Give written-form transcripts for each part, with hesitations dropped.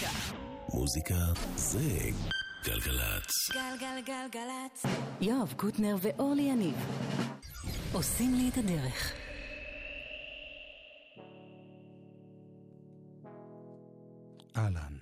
מוזיקה. מוזיקה זה גלגלצ. גלגלגלגלצ. יואב קוטנר ואורלי יניב עושים לי את הדרך. אהלן.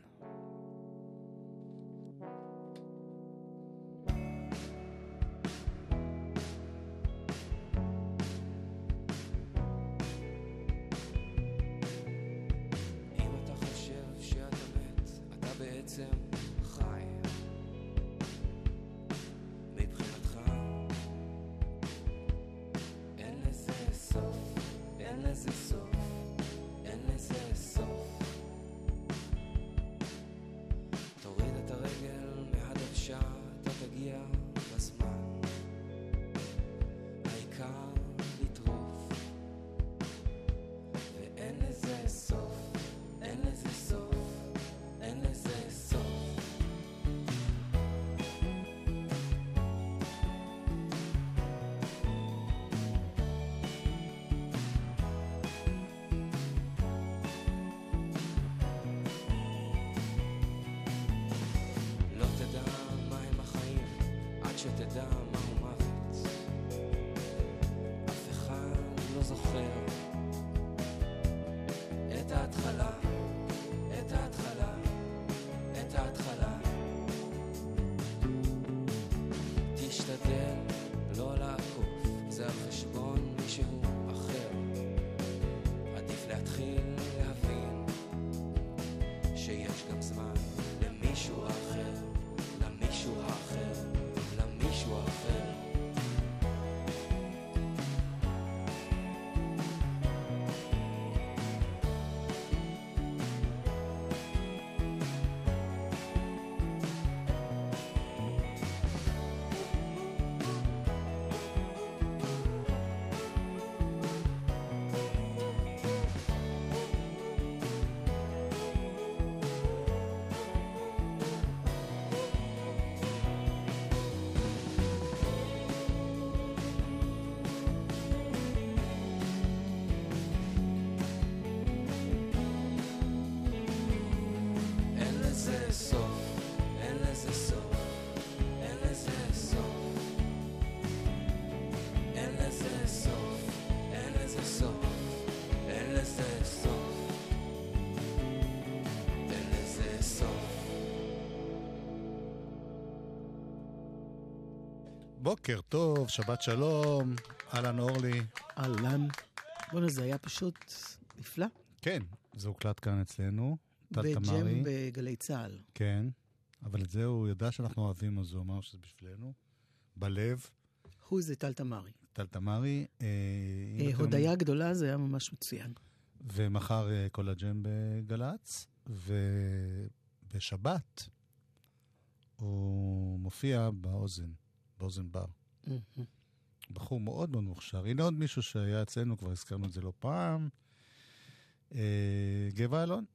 בוקר טוב, שבת שלום, אהלן אורלי. אהלן. בואו, זה היה פשוט נפלא. כן, זה הוקלט כאן אצלנו. בג'ם בגלי צהל. כן, אבל את זה הוא ידע שאנחנו אוהבים, אז הוא אמר שזה בשבילנו. בלב. הוא זה טל תמרי. טל תמרי. הודעה גדולה, זה היה ממש מצוין. ומחר כל הג'ם בגלץ, ובשבת הוא מופיע באוזן בר. בחור מאוד מאוד מוכשר. הנה עוד מישהו שהיה אצלנו, כבר הזכרנו את זה לא פעם. גבע אלון.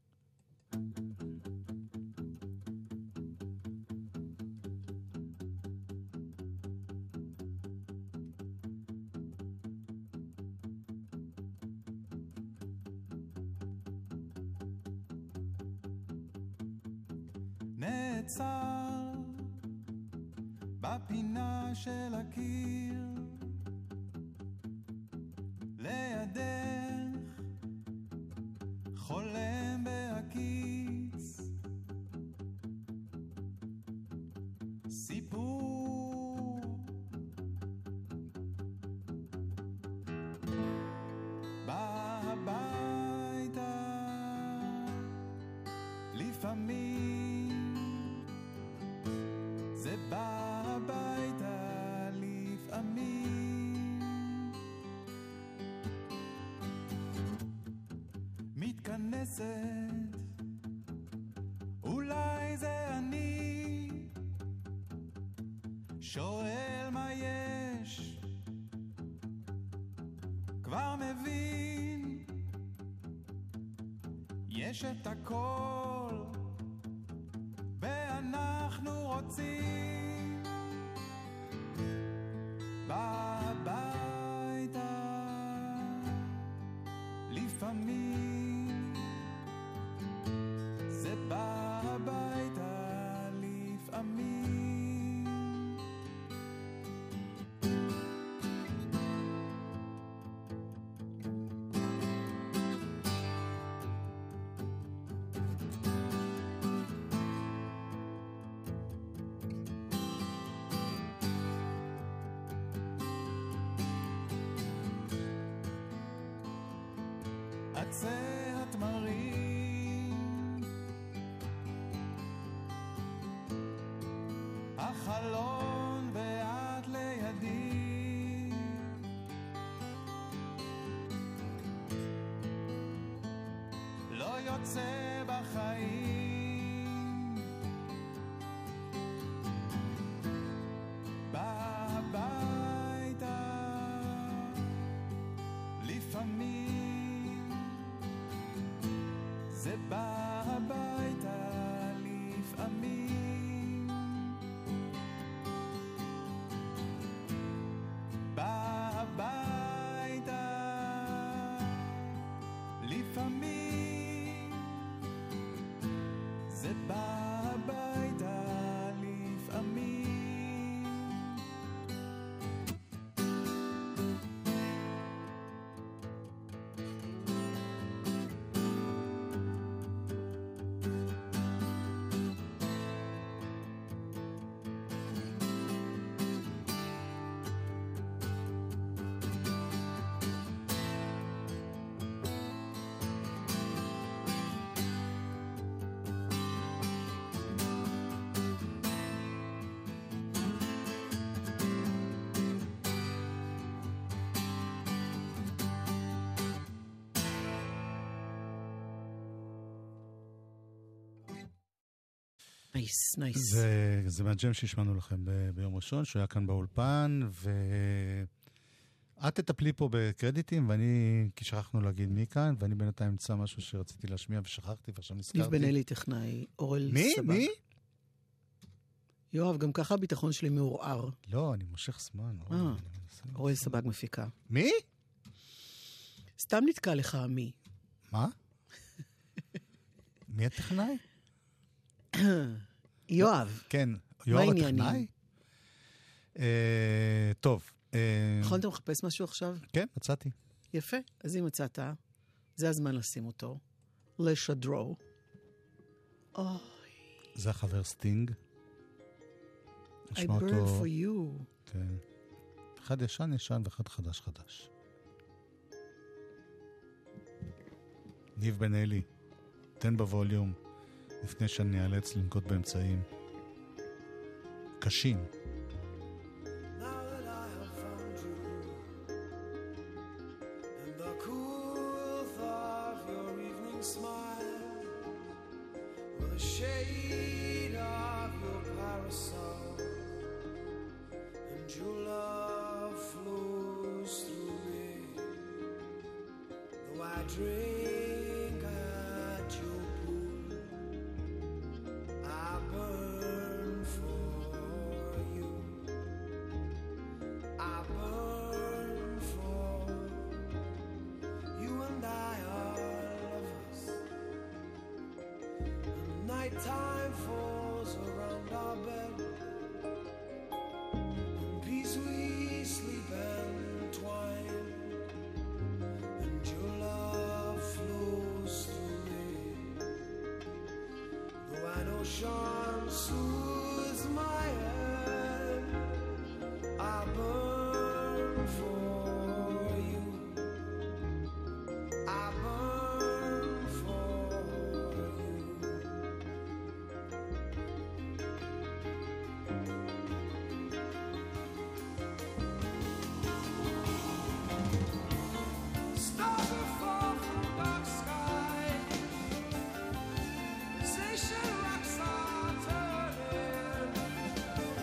נעצר בפינה של הקיר לידך חולם בהקיץ סיפור בא הביתה לפעמים זה בא הביתה לפעמים מתכנסת אולי זה אני שואל מה יש כבר מבין יש את הכל ואנחנו רוצים הביתה לפעמים זה בא בקצה התמרים, החלון ואת לידי, לא יוצא בחיים, בא הביתה לפעמים, זה בא הביתה לפעמים, בא הביתה לפעמים, זה בא הביתה לפעמים. נייס, נייס. זה מהג'ם שהשמענו לכם ביום ראשון, שהיה כאן באולפן, ואת תטפלי פה בקרדיטים, כי שכחנו להגיד מי כאן, ואני בינתיים אמצא משהו שרציתי להשמיע ושכחתי, ועכשיו נזכרתי. ניב בן אלי טכנאי, אורל סבג. מי? יואב, גם ככה הביטחון שלי מעורער. לא, אני מושך זמן. אורל סבג מפיקה. מי? סתם נתקע לך מי. מה? מי הטכנאי? יואב. כן, יואב הטכנאי? טוב. נכון, אתה מחפש משהו עכשיו? כן, מצאתי. יפה, אז אם מצאת, זה הזמן לשים אותו. לשדרו. זה החבר סטינג. I burn for you. כן. אחד ישן ישן ואחד חדש חדש. ניב בן אלי, תן בווליום, לפני שאני אאלץ לנקוט באמצעים קשים. Drink at your pool, I burn for you, I burn for you, and I are lovers. And nighttime falls around our bed, in peace we sleep entwined, and your love flows through me. Though an ocean soothes my head, I burn for you, I burn for you. Stars will fall from dark sky, station rocks are turning,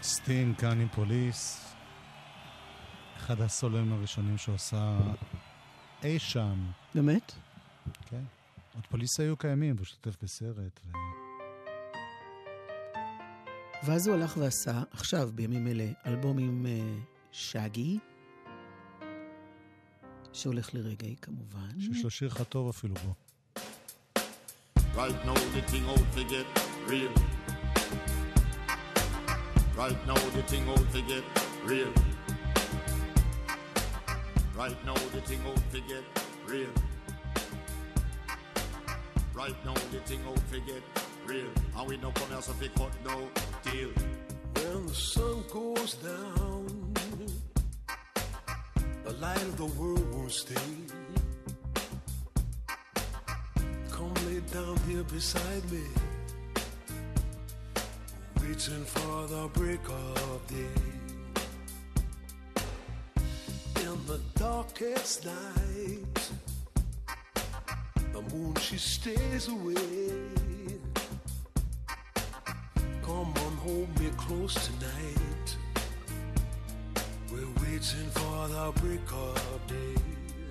סטינג כאן עם פוליס, אחד הסולואים הראשונים שהוא עשה אי שם. באמת? כן. עוד פוליס היו קיימים, והוא שותף בסרט. ואז הוא הלך ועשה, עכשיו בימים אלה, אלבום עם שגי, שהולך לרגעי כמובן. שיש לו שיר חטוב אפילו בו. Right now the thing out to get real. Right now the thing out to get real. Right now the thing out to get real. Right now the thing out to get real. And we no come here so we cut no deal. When the sun goes down, the light of the world won't stay. Come lay down here beside me, waiting for the break of day. In the darkest night, the moon she stays away. Come on, hold me close tonight. We're waiting for the break of day.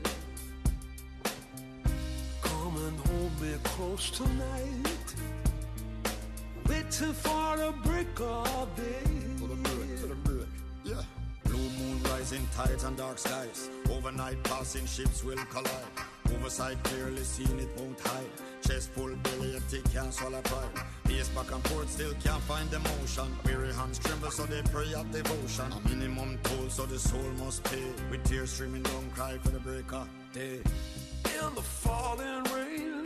Come and hold me close tonight. Waiting for the break of day. For the break, yeah. Blue moon rising, tides and dark skies. Overnight passing ships will collide. Oversight clearly seen, it won't hide. Chest full, belly empty, can't swallow pride. Pace back and forth, still can't find emotion. Weary hands tremble, so they pray at devotion. A minimum toll, so the soul must pay. With tears streaming down, cry for the break of day. In the falling rain,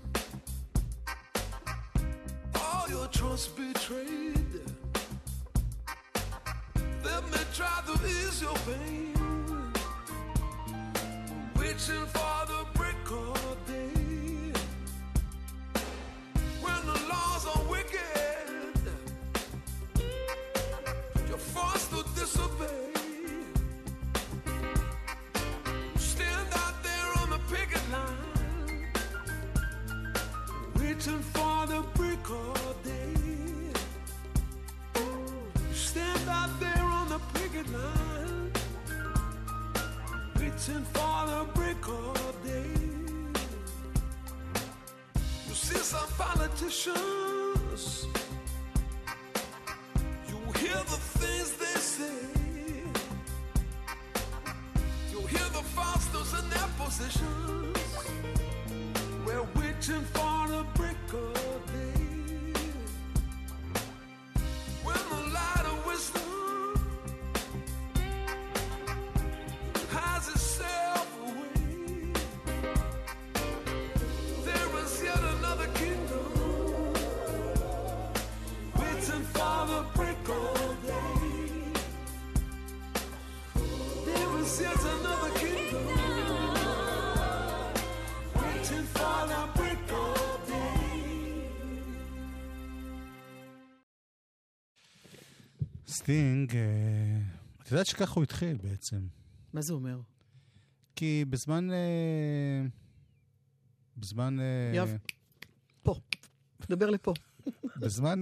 all your trust betrayed. Let me try to ease your pain. Waiting for the break of day. When the laws are wicked, you're forced to disobey. Stand out there on the picket line, waiting for the break of day. Stand out there on the picket line, waiting for the break of day. You see some politicians, you hear the things they say. You hear the fosters in their positions. We're waiting for the break of day. When the light of wisdom has itself away, there is yet another kingdom waiting for the break of day. There is yet another kingdom waiting for the break of day. סטינג, את יודעת שככה הוא התחיל בעצם. מה זה אומר? כי בזמן... יאב, פה. דבר לפה. בזמן...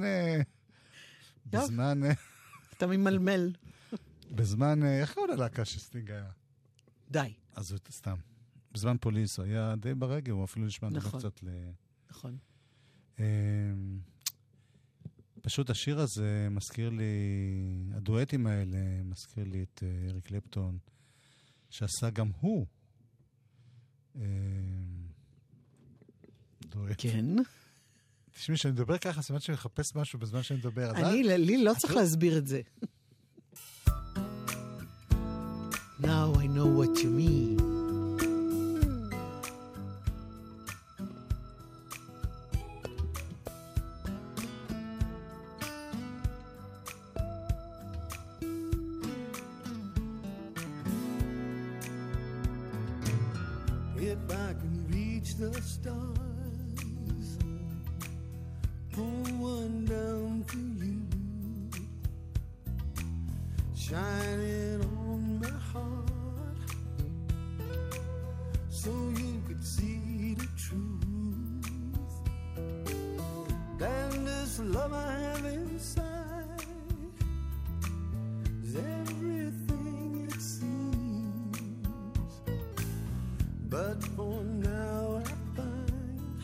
אתה ממלמל. בזמן... איך קראו ללהקה שסטינג היה? די. אז זה סתם. בזמן פוליס הוא היה די ברגע, הוא אפילו נשמע נכון. קצת נכון. פשוט השיר הזה מזכיר לי, הדואטים האלה מזכיר לי את אריק קלפטון, שעשה גם הוא דואט. כן. תשמעי, שאני מדבר ככה, סימן שאני מחפש משהו בזמן שאני מדבר. לי לא צריך להסביר את זה. Now I know what you mean. If I can reach the stars, pull one down to you, shining on my heart, so you could see the truth. And this love I have inside but for now I find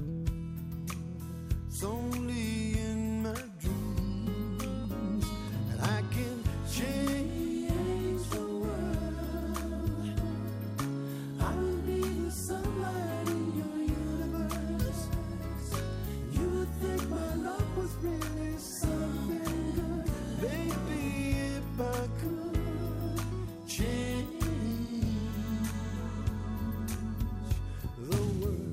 it's only in my dreams that I can change the world. I will be the sunlight in your universe. You would think my love was really something good. Baby, if I could change the world.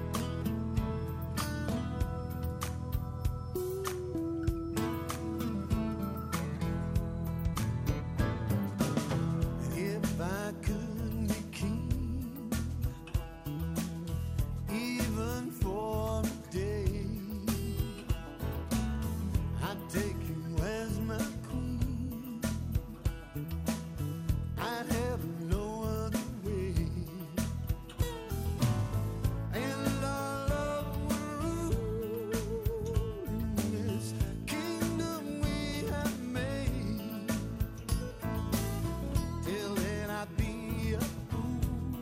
If I could be king, even for a day, I'd take you as my queen. I'd have no other way. And our love would rule in this kingdom we have made. Till then I'd be a fool,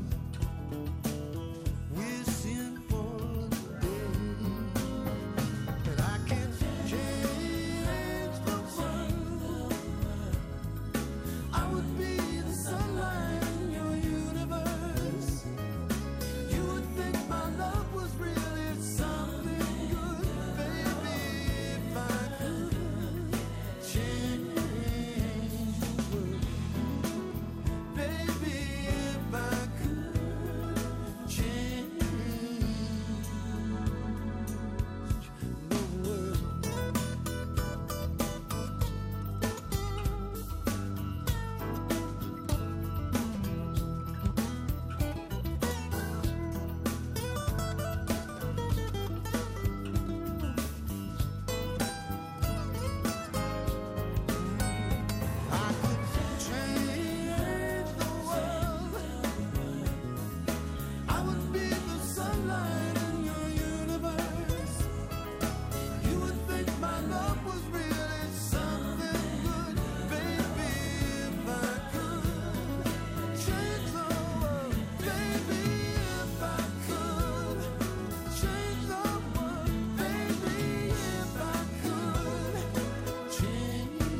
wishing for the day that I can change the world. I would be the sunlight in your universe. You would think my love was really something good. Baby, if I could change the world. Baby, if I could change the world. I could change the world. I would be the sunlight in your universe. You would think my love was really something good. Baby, if I could change the world. Baby, if I could change the world. Baby, if I could change the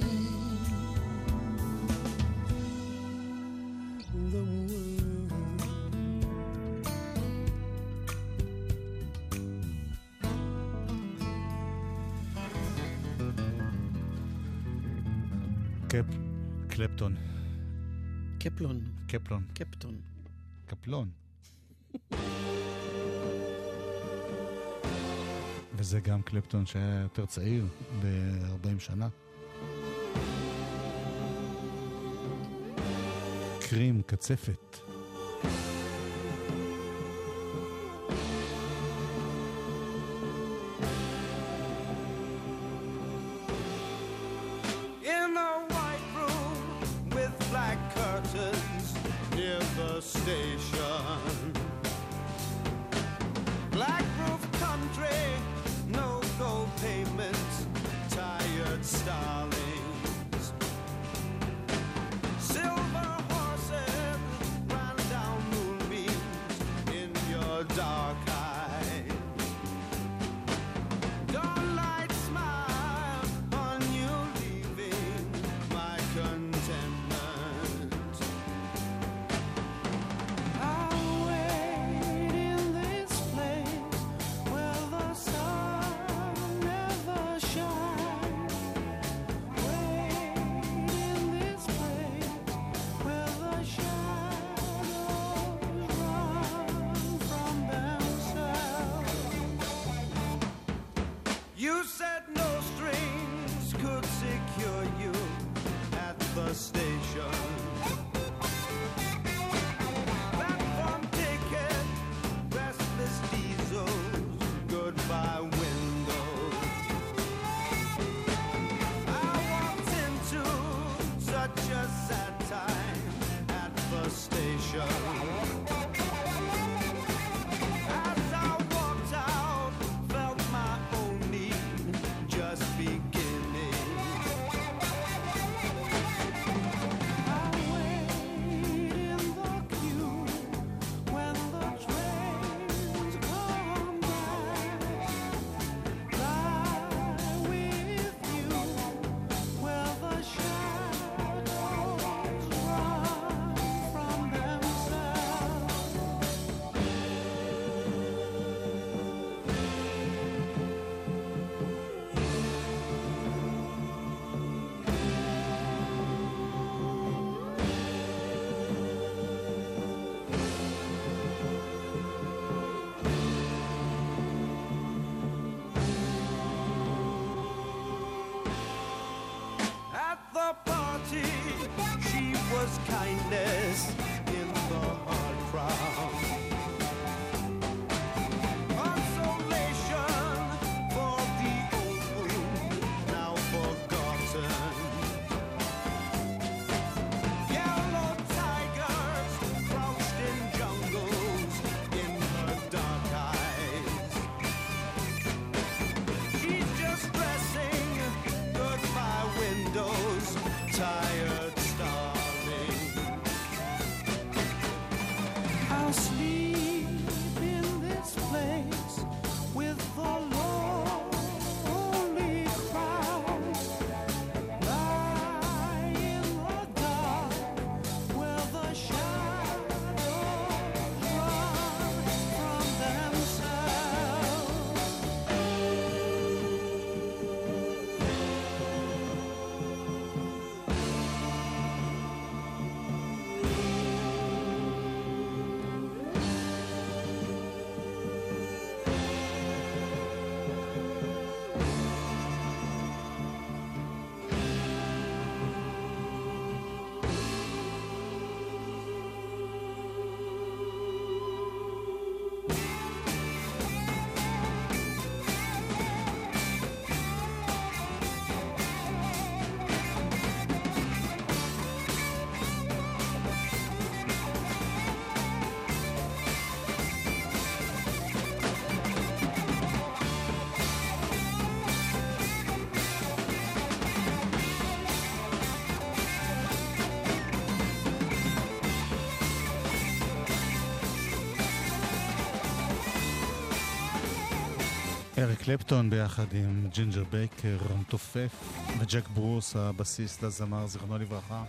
world. קלפטון. קפלון, קפלון. קפטון. קפלון. וזה גם קלפטון שהיה יותר צעיר ב-40 שנה. קרים, קצפת. In a white room with black curtains near the station. Black roof country, no gold pavements, tired starlings. Silver horses ran down moonbeams in your dark eyes. Dawnlight smile on you leaving my contentment. I'll wait in this place where the sun never shines. Wait in this place where the shadows run from themselves. You said no strings could secure you at the station. Platform ticket, restless diesels, goodbye windows. I walked into such a sad time at the station. As I walked out, felt my own need just beginning. I wait in the queue There's kindness in the hard crowd. Consolation for the old wound now forgotten. Yellow tigers crouched in jungles in her dark eyes. She's just dressing goodbye windows, tired, starving. I'll sleep in this place with the lonely crowd. Lie in the dark where the shadows run from themselves. אריק קלפטון ביחד עם ג'ינג'ר בייקר המתופף וג'ק ברוס הבסיסט לזמר זיכרונו לברכה.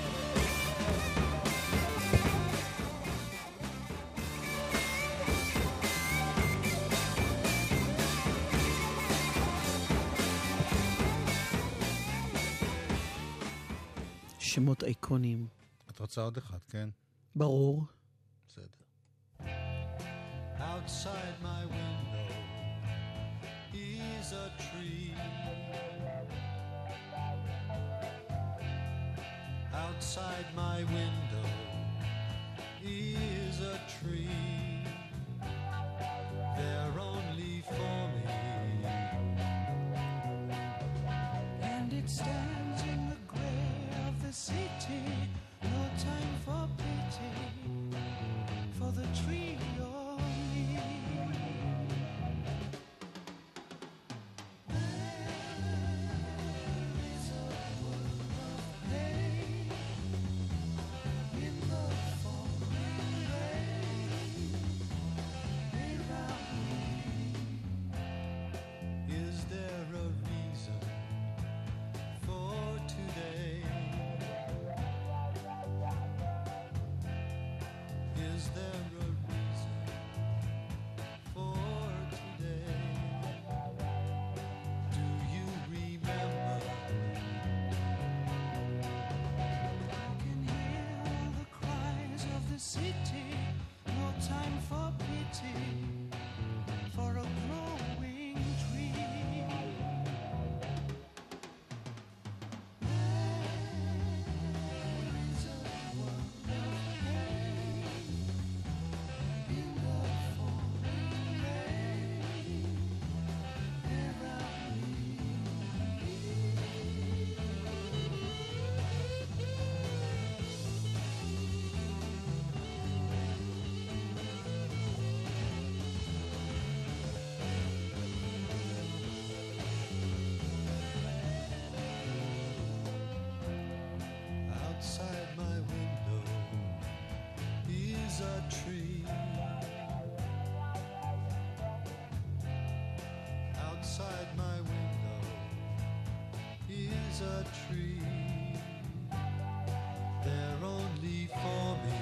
שמות אייקונים. את רוצה עוד אחד, כן? ברור. בסדר. Outside my window is a tree. Outside my window is a tree. They're only for me. And it stands in the gray of the city. No time for pity for the tree or me. City, no time for pity for a growing tree. There is a world of pain in the falling rain around me. Outside my window is a tree. Outside my window is a tree. They're only for me.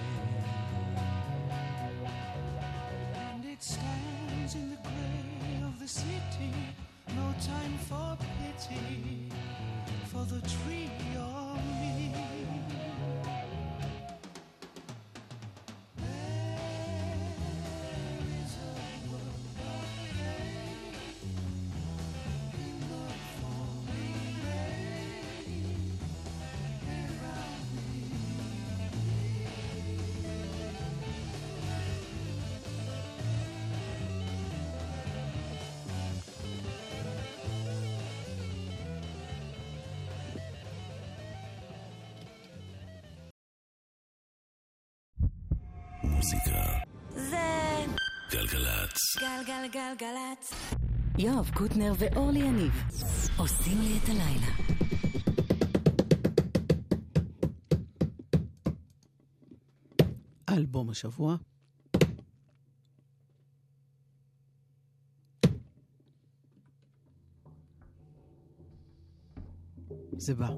And it stands in the gray of the city. No time for pity for the tree or me. המוזיקה. זה גלגלצ. גלגלגלגלצ. יואב קוטנר ואורלי יניב עושים לי את הלילה. אלבום השבוע. זה בא.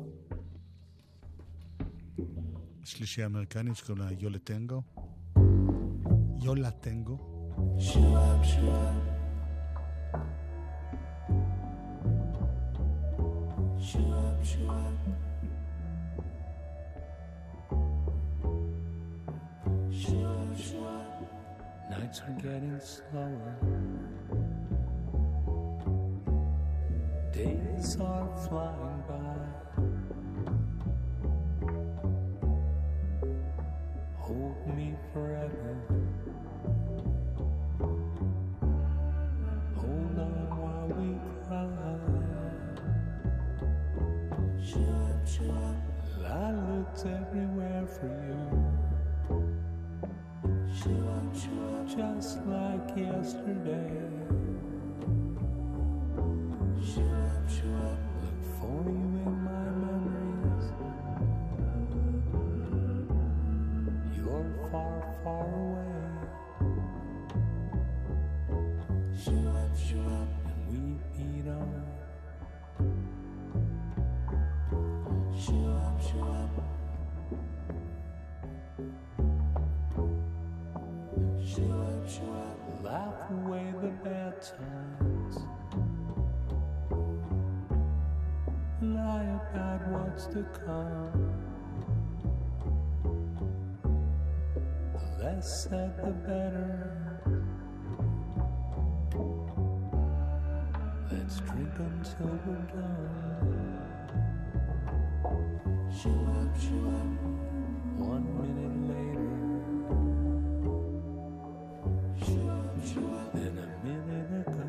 שלישי אמריקנית שקוראים לה יולה טנגו. יולה טנגו. Shoo-up, shoo-up. Shoo-up, shoo-up. Shoo-up, shoo-up. Nights are getting slower. Days are flying by. Hold me forever. Hold on while we cry. Shoo-up, shoo-up. I looked everywhere for you. Shoo-up, shoo-up. Just like yesterday. Shoo-up, shoo-up. Look for you in my memories. You're far, far away. Shoo-up, shoo-up. And we beat on. Shoo-up, shoo-up. Shoo-up, shoo-up. Laugh away the bad times. Lie about what's to come. The less said, the better. Let's drink until we're done. Shoo-up, shoo-up. 1 minute later. Shoo-up, shoo-up. Then a minute ago.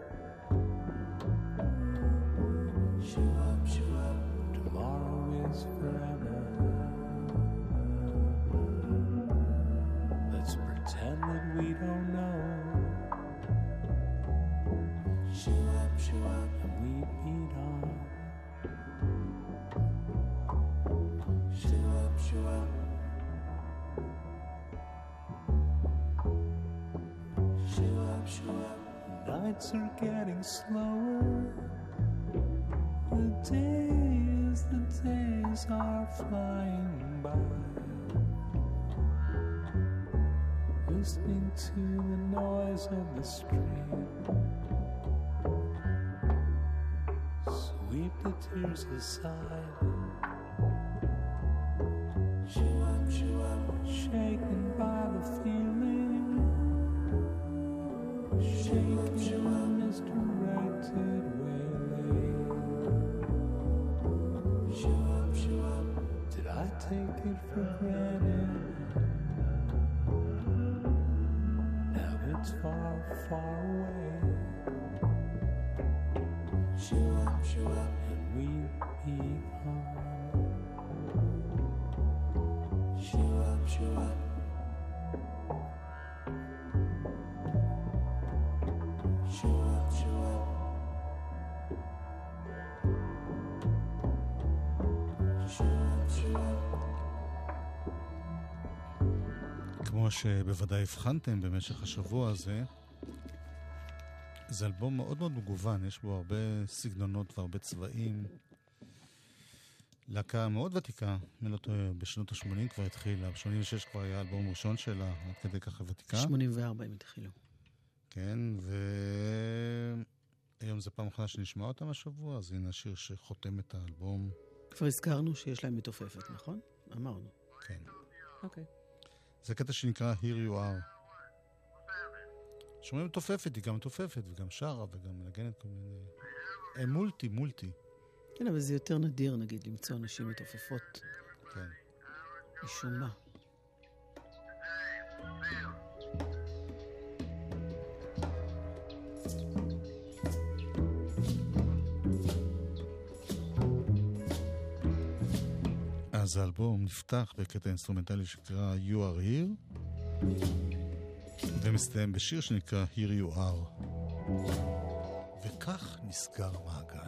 Shoo-up, shoo-up. Tomorrow is forever. Let's pretend that we don't know. Shoo-up, shoo-up. And we beat on. Shoo-up, shoo-up. Shoo-up, shoo-up. Nights are getting slower. The days are flying by. Listening to the noise of the stream. Sweep the tears aside. Shoo-up, shoo-up. Shaken by the feeling. Shaken in misdirected waylay. Shoo-up, shoo-up. Did I take it for granted? Now it's far, far away. Shoo-up, shoo-up. And we beat on. Shoo-up, shoo-up. Shoo-up, shoo-up. Shoo-up, shoo-up. כמו שבוודאי הבחנתם במשך השבוע הזה, זה אלבום מאוד מאוד מגוון, יש בו הרבה סגנונות והרבה צבעים. להקה מאוד ותיקה, בשנות ה-80 כבר התחילה, ב-86 כבר היה אלבום ראשון שלה, עד כדי ככה ותיקה. 84 הם התחילו. כן, והיום זה פעם אחרונה שנשמע אותם השבוע, אז הנה השיר שחותם את האלבום. כבר הזכרנו שיש להם מתופפת, נכון? אמרנו. כן. אוקיי. זה קטע שנקרא Here You Are. שומעים מתופפת, היא גם מתופפת, וגם שרה, וגם מנגנת כל מיני... הם מולטי. כן, אבל זה יותר נדיר, נגיד, למצוא אנשים מתופפות. כן. משום מה. אז האלבום נפתח בקטע אינסטרומנטלי שקרא You Are Here, ומסתיים בשיר שנקרא Here You Are. וכך נסגר מעגל.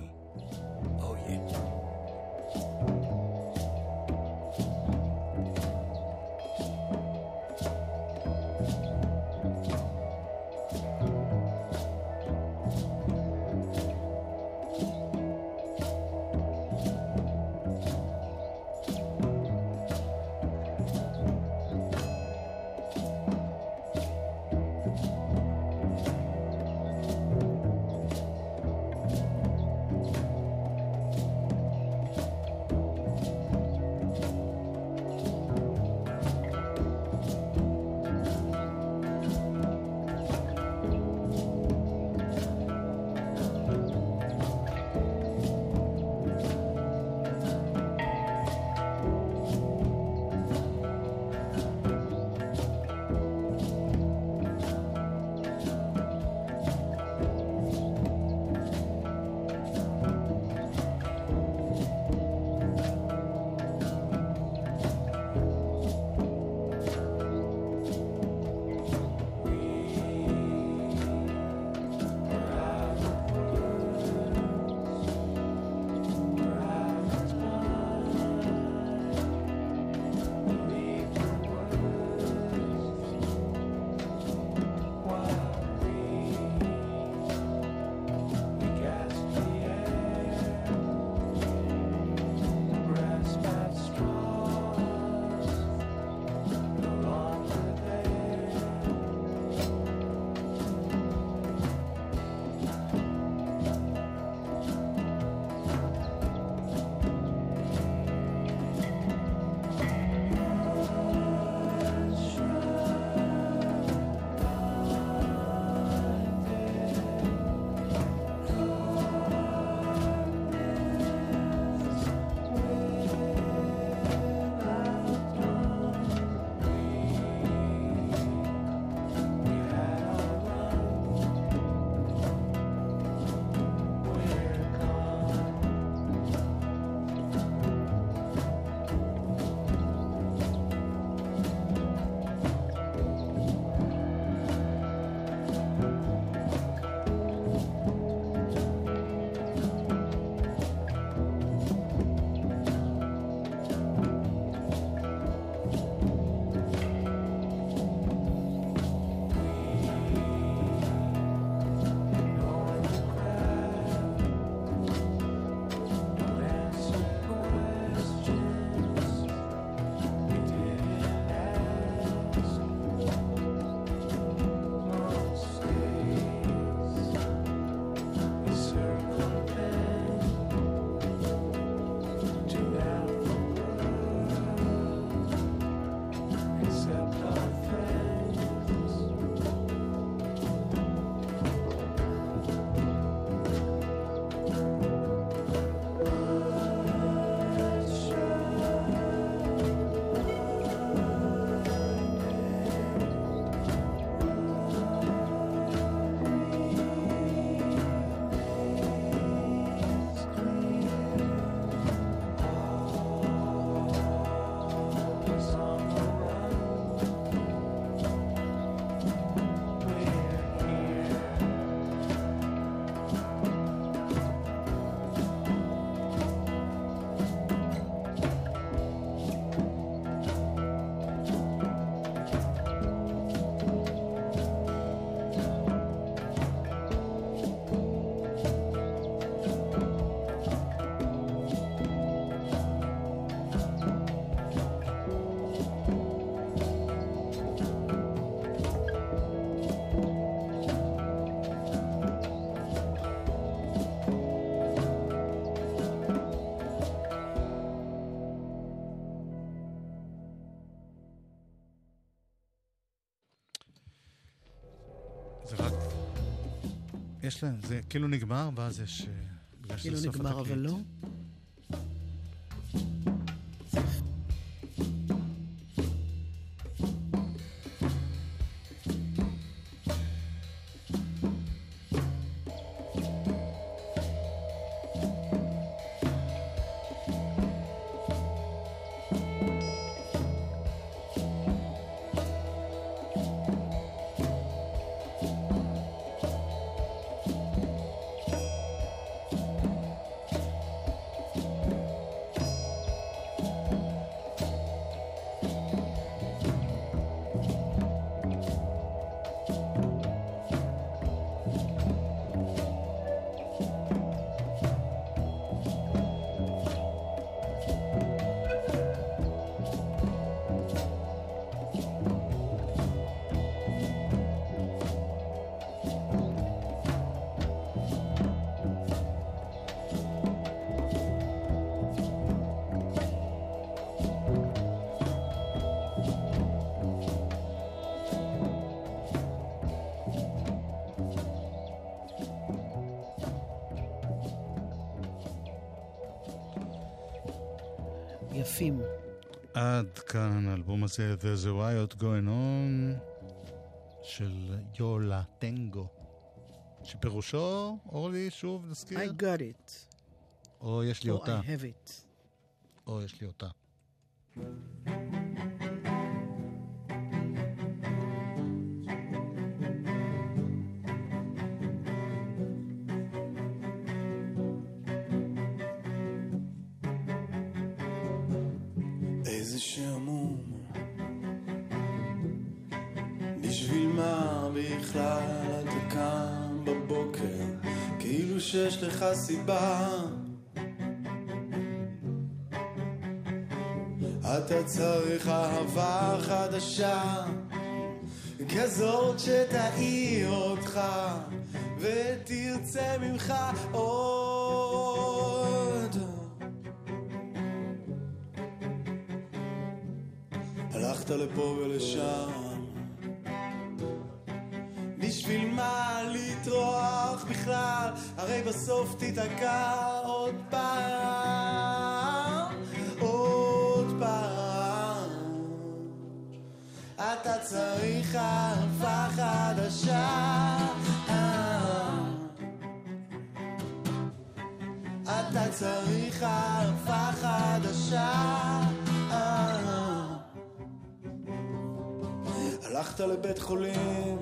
זה רק... יש להם, זה כאילו נגמר, ואז יש... כאילו נגמר, אבל לא. יפים. עד כאן האלבום הזה, There's a Riot Going On, של יולה טנגו, שפירושו, אורלי, שוב נזכיר? I got it. או יש לי אותה. I have it. או יש לי אותה. איזה שעמום, בשביל מה בכלל אתה קם בבוקר, כאילו שיש לך סיבה. אתה צריך אהבה חדשה, כזאת שתאיר אותך ותרצה ממך עוד. הלכת לפה ולשם, בשביל מה לטרוח בכלל, הרי בסוף תתעקע עוד פעם, עוד פעם. אתה צריך אהבה חדשה, אתה צריך אהבה חדשה. הלכת לבית חולים,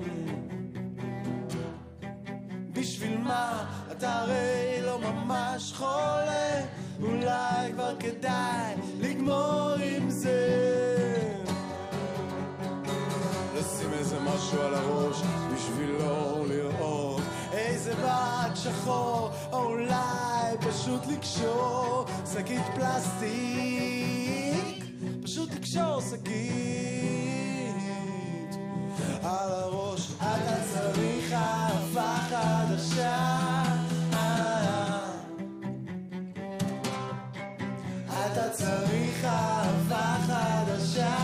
בשביל מה? אתה הרי לא ממש חולה, אולי כבר כדאי לגמור עם זה. לשים איזה משהו על הראש בשביל לא לראות איזה בד שחור, או אולי פשוט לקשור שקית פלסטיק, פשוט לקשור שקית על הראש. אתה צריך אהבה חדשה, אתה צריך אהבה חדשה.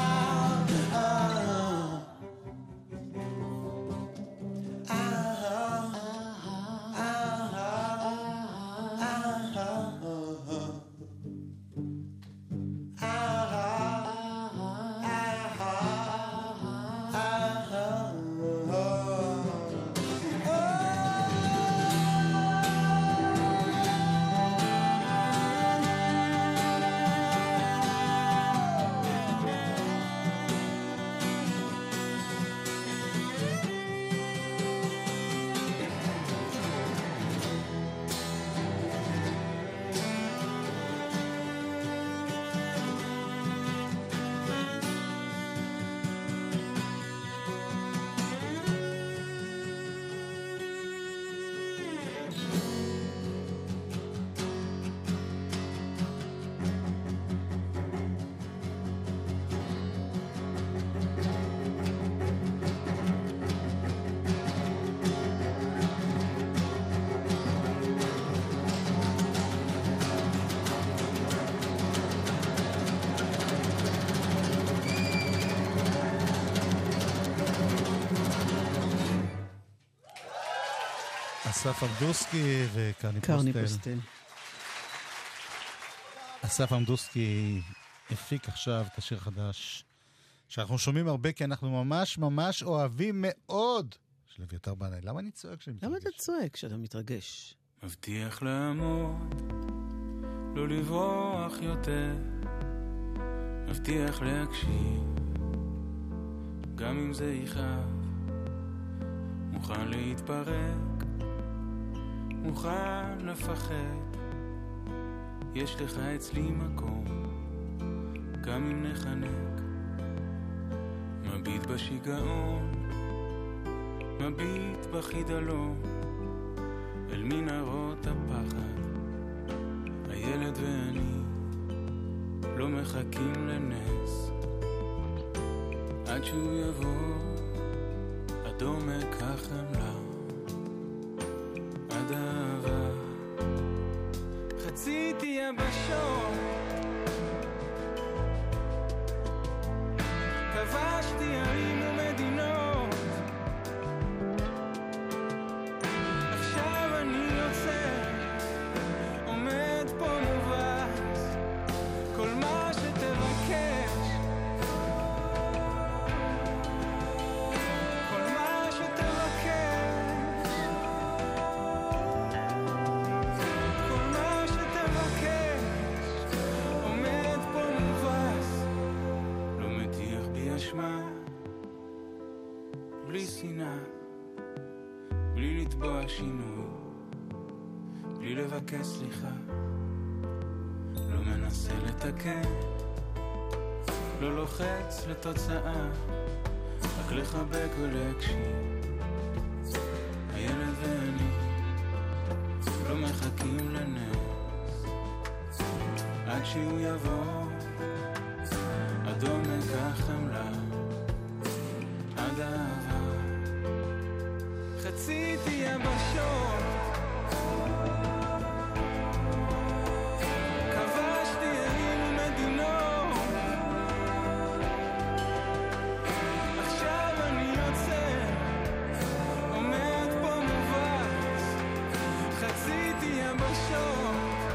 אסף עמדוסקי וקרני פוסטל. אסף עמדוסקי הפיק עכשיו את השיר החדש שאנחנו שומעים הרבה, כי אנחנו ממש ממש אוהבים מאוד, של אביתר בנאי. למה אני צועק כשאני מתרגש? למה אתה צועק כשאתה מתרגש? מבטיח לעמוד, לא לברוח יותר, מבטיח להקשיב גם אם זה יכאב, מוכן להתפרק, מוכן לפחד, יש לך אצלי מקום גם אם נחנק, מביט בשיגעון, מביט בחידלון, אל מנהרות הפחד, הילד ואני לא מחכים לנס, עד שהוא יבוא עד עומק החמלה, עד אהבה חציתי יבשות, כבשתי ערים ומדינות, עכשיו אני יוצא, עומד פה מובס, כל מה שתראה אשמה, בלי שנאה, בלי לתבוע שינוי, בלי לבקש סליחה, לא מנסה לתקן, לא לוחץ לתוצאה, רק לחבק ולהקשיב. הילד ואני לא מחכים לנס, עד שהוא יבוא עד עומק החמלה, עד האהבה. חציתי יבשות, כבשתי ערים ומדינות, עכשיו אני יוצא, עומד פה מובס. חציתי יבשות,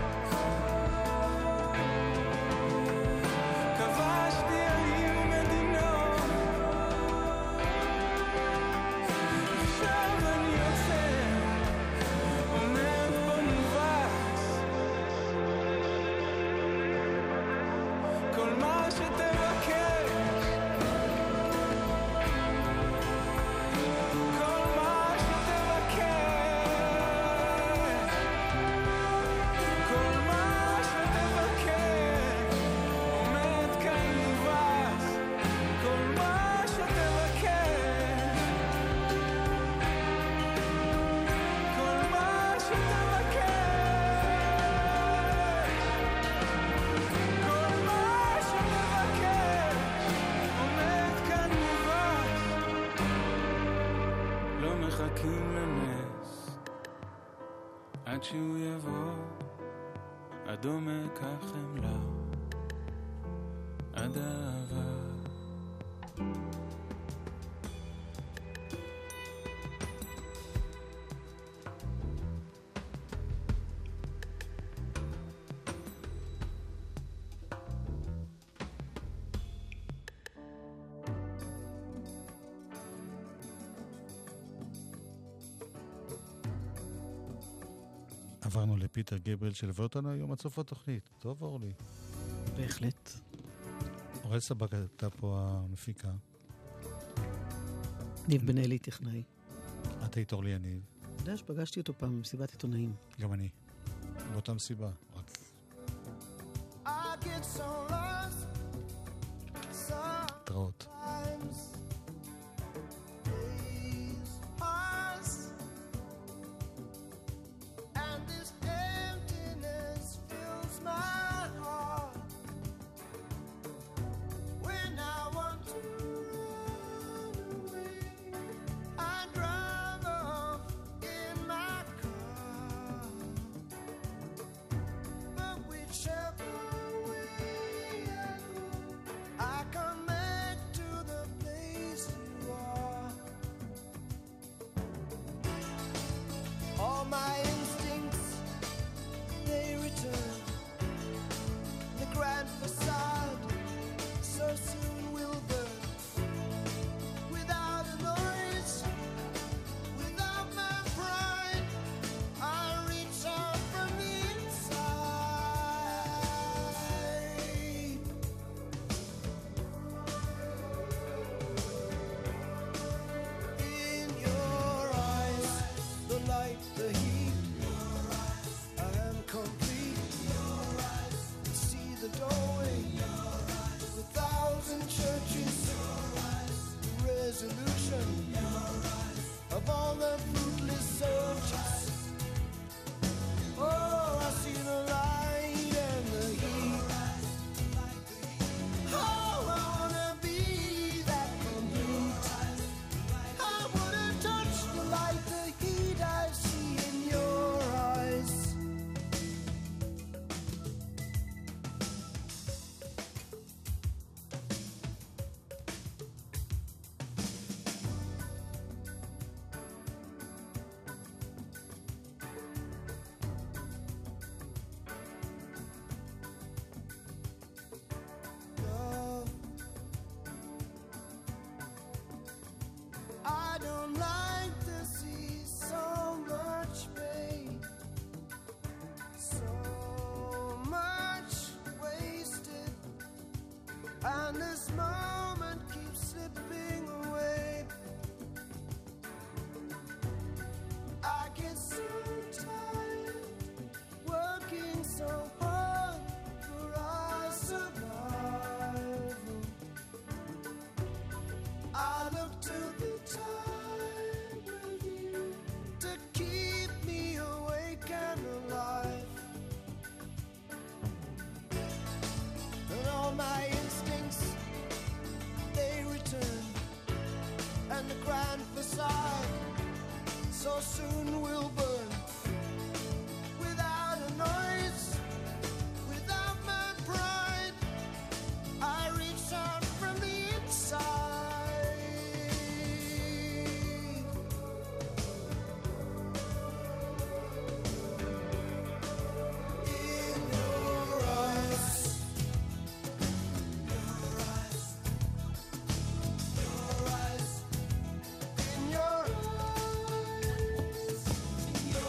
כבשתי ערים ומדינות, עכשיו אני יוצא, עומד פה מובס. כל מה שתבקש, כל מה שתבקש, כל מה שתבקש, עומד כאן מובס. כל מה שתבקש, כל מה שתבקש, כל מה שתבקש, עומד כאן מובס. לא מחכים לנס, עד שהוא יבוא עד עומק החמלה, עד האהבה. עברנו לפיטר גבל שלווה אותנו היום עד סוף התוכנית. טוב, אורלי. בהחלט. אורל סבק הייתה פה המפיקה. ניב בן אלי טכנאי. את היית אורלי יניב. אתה יודע שפגשתי אותו פעם במסיבת עיתונאים. גם אני. באותה מסיבה. רק I get so lost התראות. sometimes. Days pass and this emptiness fills my heart. When I want to run away, I drive off in my car. But whichever way I go, I come back to and the grand facade so soon will burn without a noise, without my pride. I reach out from the inside. In your eyes, your eyes, your eyes, in your eyes, in your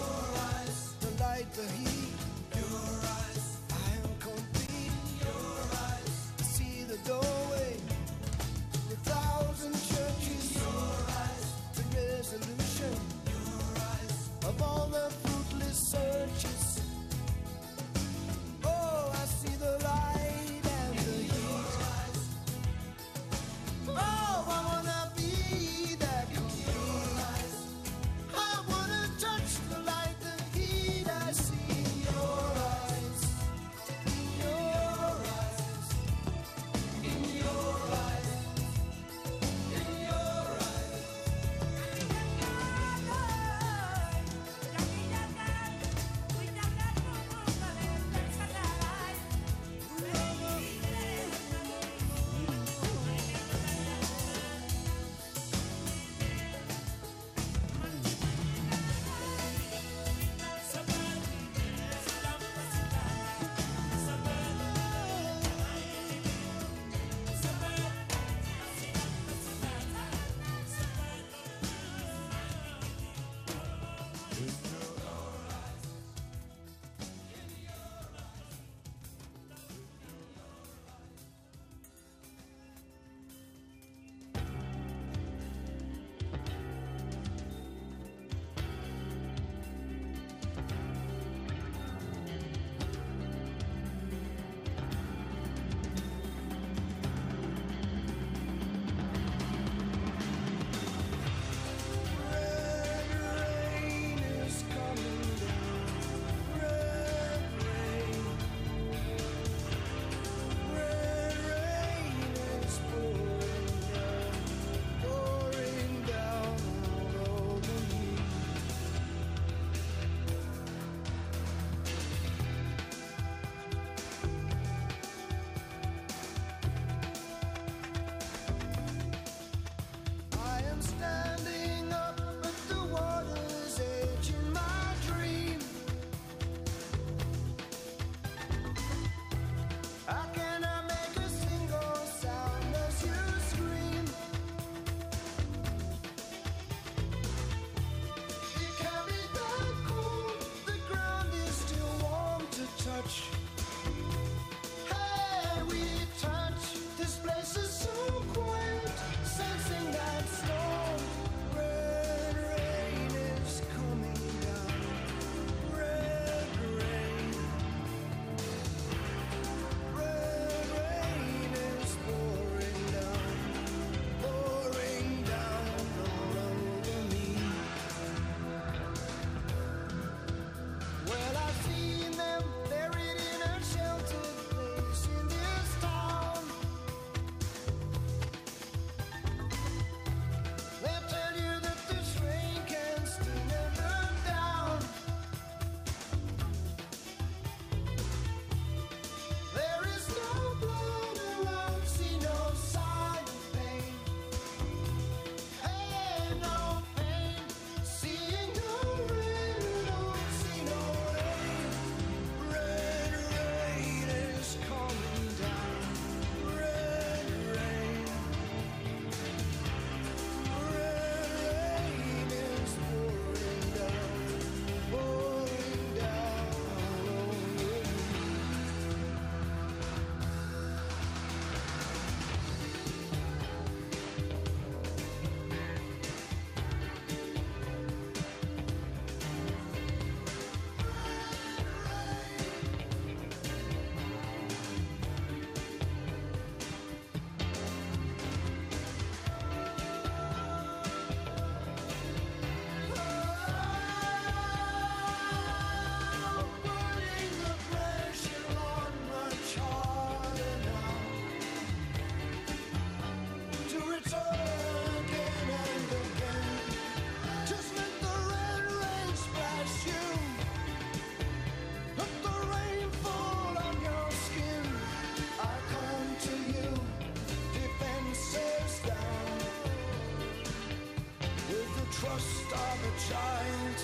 child.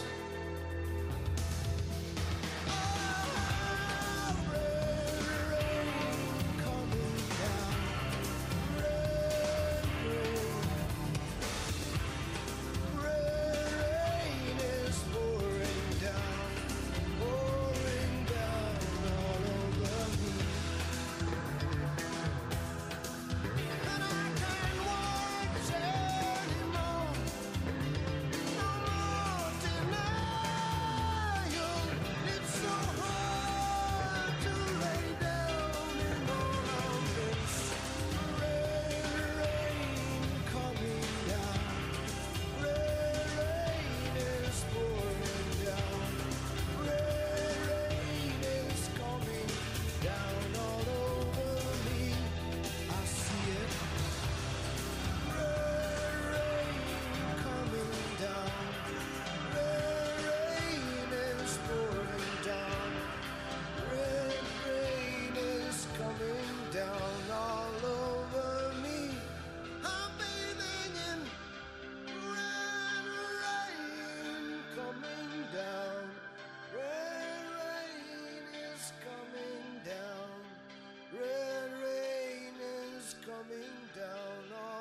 Coming down